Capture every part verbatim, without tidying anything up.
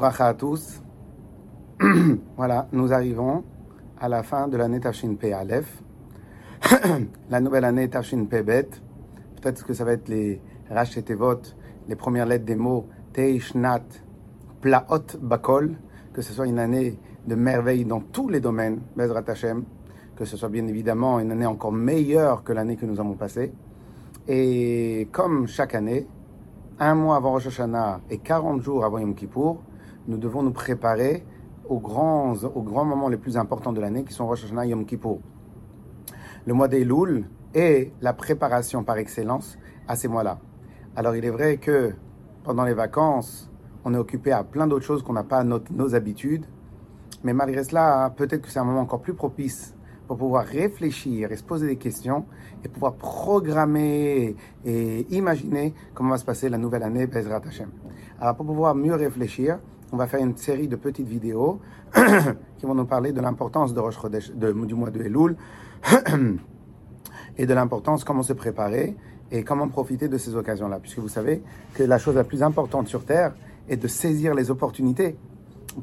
Uvracha à tous. Voilà, nous arrivons à la fin de l'année Tafshin Pei Aleph. La nouvelle année Tafshin Pei Bet. Peut-être que ça va être les Rashi Tevot, les premières lettres des mots Tei Shnat Plaot Bakol. Que ce soit une année de merveille dans tous les domaines, Bezrat Hashem. Que ce soit bien évidemment une année encore meilleure que l'année que nous avons passée. Et comme chaque année, un mois avant Rosh Hashanah et quarante jours avant Yom Kippour, nous devons nous préparer aux grands, aux grands moments les plus importants de l'année qui sont Rosh Hashanah et Yom Kippour. Le mois d'Elul est la préparation par excellence à ces mois-là. Alors il est vrai que pendant les vacances, on est occupé à plein d'autres choses qu'on n'a pas à notre, nos habitudes, mais malgré cela, peut-être que c'est un moment encore plus propice pour pouvoir réfléchir et se poser des questions et pouvoir programmer et imaginer comment va se passer la nouvelle année Bezrat Hashem. Alors pour pouvoir mieux réfléchir, on va faire une série de petites vidéos qui vont nous parler de l'importance de Rosh Chodesh, de, du mois de Elul et de l'importance comment se préparer et comment profiter de ces occasions-là. Puisque vous savez que la chose la plus importante sur Terre est de saisir les opportunités. Pourquoi ?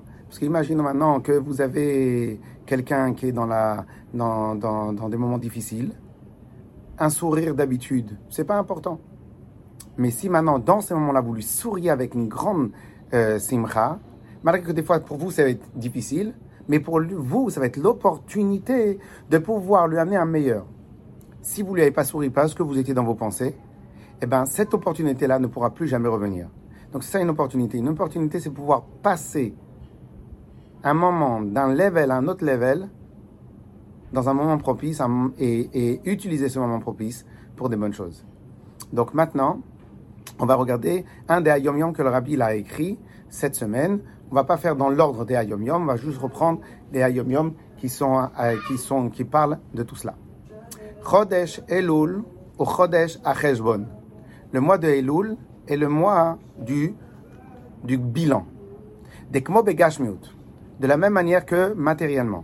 Parce qu'imaginons maintenant que vous avez quelqu'un qui est dans, la, dans, dans, dans des moments difficiles. Un sourire d'habitude, c'est pas important. Mais si maintenant, dans ces moments-là, vous lui souriez avec une grande euh, simcha, malgré que des fois, pour vous, ça va être difficile, mais pour vous, ça va être l'opportunité de pouvoir lui amener un meilleur. Si vous ne lui avez pas souri parce que vous étiez dans vos pensées, eh ben, cette opportunité-là ne pourra plus jamais revenir. Donc, c'est ça une opportunité. Une opportunité, c'est pouvoir passer un moment d'un level à un autre level, dans un moment propice, un, et, et utiliser ce moment propice pour des bonnes choses. Donc maintenant, on va regarder un des Hayom Yom que le Rabbi a écrit cette semaine. On va pas faire dans l'ordre des Hayom Yom, on va juste reprendre les Hayom Yom qui sont, euh, qui sont, qui parlent de tout cela. Chodesh Elul ou Chodesh Acheshbon. Le mois de Elul est le mois du, du bilan. Dekmo begashmiut. De la même manière que matériellement.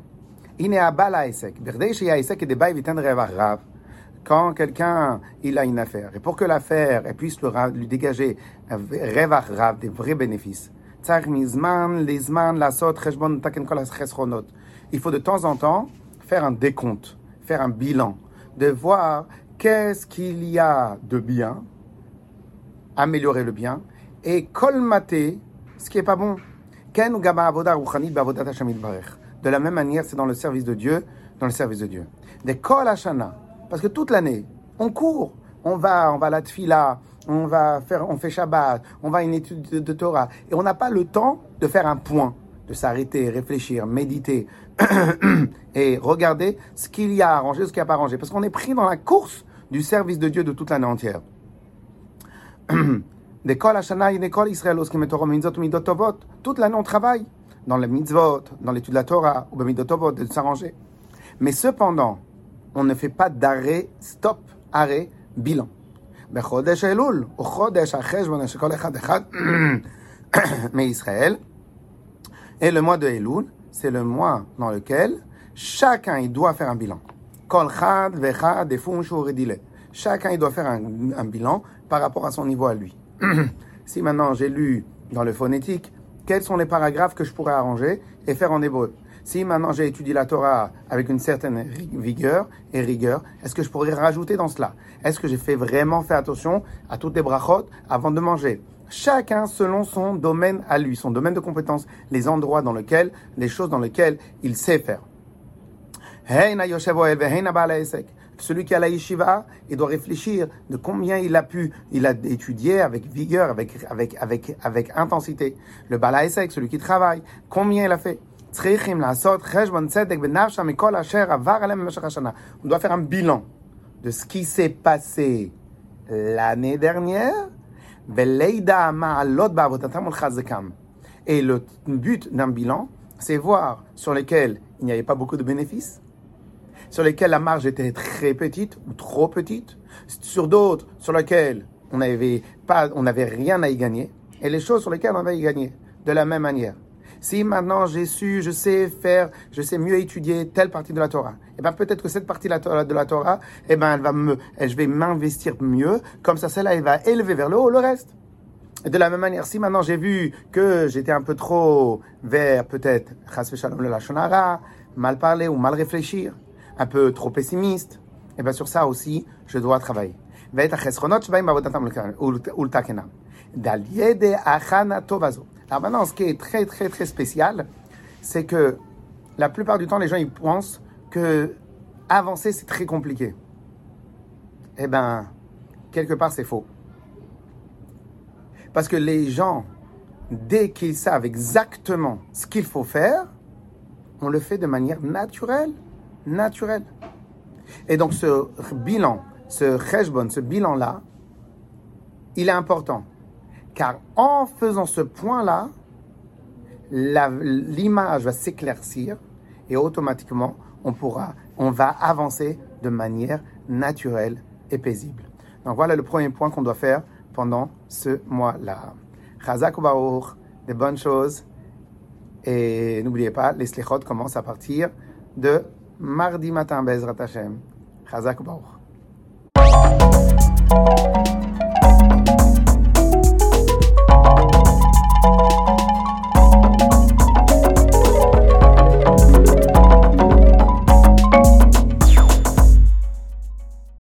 Quand quelqu'un il a une affaire, et pour que l'affaire elle puisse lui dégager des vrais bénéfices, il faut de temps en temps faire un décompte, faire un bilan, de voir qu'est-ce qu'il y a de bien, améliorer le bien, et colmater ce qui n'est pas bon. De la même manière, c'est dans le service de Dieu, dans le service de Dieu. Des kol hashana, parce que toute l'année, on court, on va, on va à la tfila, on va faire, on fait Shabbat, on va à une étude de, de Torah, et on n'a pas le temps de faire un point, de s'arrêter, réfléchir, méditer et regarder ce qu'il y a à arranger, ce qu'il n'y a pas à arranger, parce qu'on est pris dans la course du service de Dieu de toute l'année entière. Des kol hashana et des kol Israël, toute l'année on travaille dans les mitzvot, dans l'étude de la Torah, ou b'midot tovot, de s'arranger. Mais cependant, on ne fait pas d'arrêt, stop, arrêt, bilan. Bechodesh Elul, ou chodesh acheshbon shekol echad echad, mais Israël, et le mois de Elul, c'est le mois dans lequel chacun il doit faire un bilan. Kol chad vechad defun shu redile. Chacun il doit faire un, un bilan par rapport à son niveau à lui. Si maintenant j'ai lu dans le phonétique, quels sont les paragraphes que je pourrais arranger et faire en hébreu? Si maintenant j'ai étudié la Torah avec une certaine vigueur et rigueur, est-ce que je pourrais rajouter dans cela? Est-ce que j'ai fait vraiment fait attention à toutes les brachot avant de manger? Chacun selon son domaine à lui, son domaine de compétence, les endroits dans lesquels, les choses dans lesquelles il sait faire. Celui qui a la yeshiva, il doit réfléchir de combien il a pu, il a étudié avec vigueur, avec, avec, avec, avec intensité. Le Baal HaEsek, celui qui travaille, combien il a fait. On doit faire un bilan de ce qui s'est passé l'année dernière. Et le but d'un bilan, c'est voir sur lesquels il n'y avait pas beaucoup de bénéfices, sur lesquels la marge était très petite ou trop petite, sur d'autres sur lesquels on n'avait pas, on n'avait rien à y gagner, et les choses sur lesquelles on avait à y gagner, de la même manière. Si maintenant j'ai su, je sais faire, je sais mieux étudier telle partie de la Torah, et bien peut-être que cette partie de la Torah, de la Torah eh ben elle va me, je vais m'investir mieux, comme ça celle-là elle va élever vers le haut le reste. Et de la même manière, si maintenant j'ai vu que j'étais un peu trop vers peut-être chas v'shalom le lashon hara, mal parler ou mal réfléchir, un peu trop pessimiste, et bien sur ça aussi, je dois travailler. Alors maintenant, ce qui est très très très spécial, c'est que la plupart du temps, les gens ils pensent que avancer c'est très compliqué. Eh bien, quelque part c'est faux. Parce que les gens, dès qu'ils savent exactement ce qu'il faut faire, on le fait de manière naturelle, naturelle. Et donc ce bilan, ce cheshbon, ce bilan-là, il est important. Car en faisant ce point-là, la, l'image va s'éclaircir et automatiquement, on pourra, on va avancer de manière naturelle et paisible. Donc voilà le premier point qu'on doit faire pendant ce mois-là. Chazak u'baruch, des bonnes choses. Et n'oubliez pas, les slichot commencent à partir de mardi matin, Bezrat Hashem. Chazak u'baruch.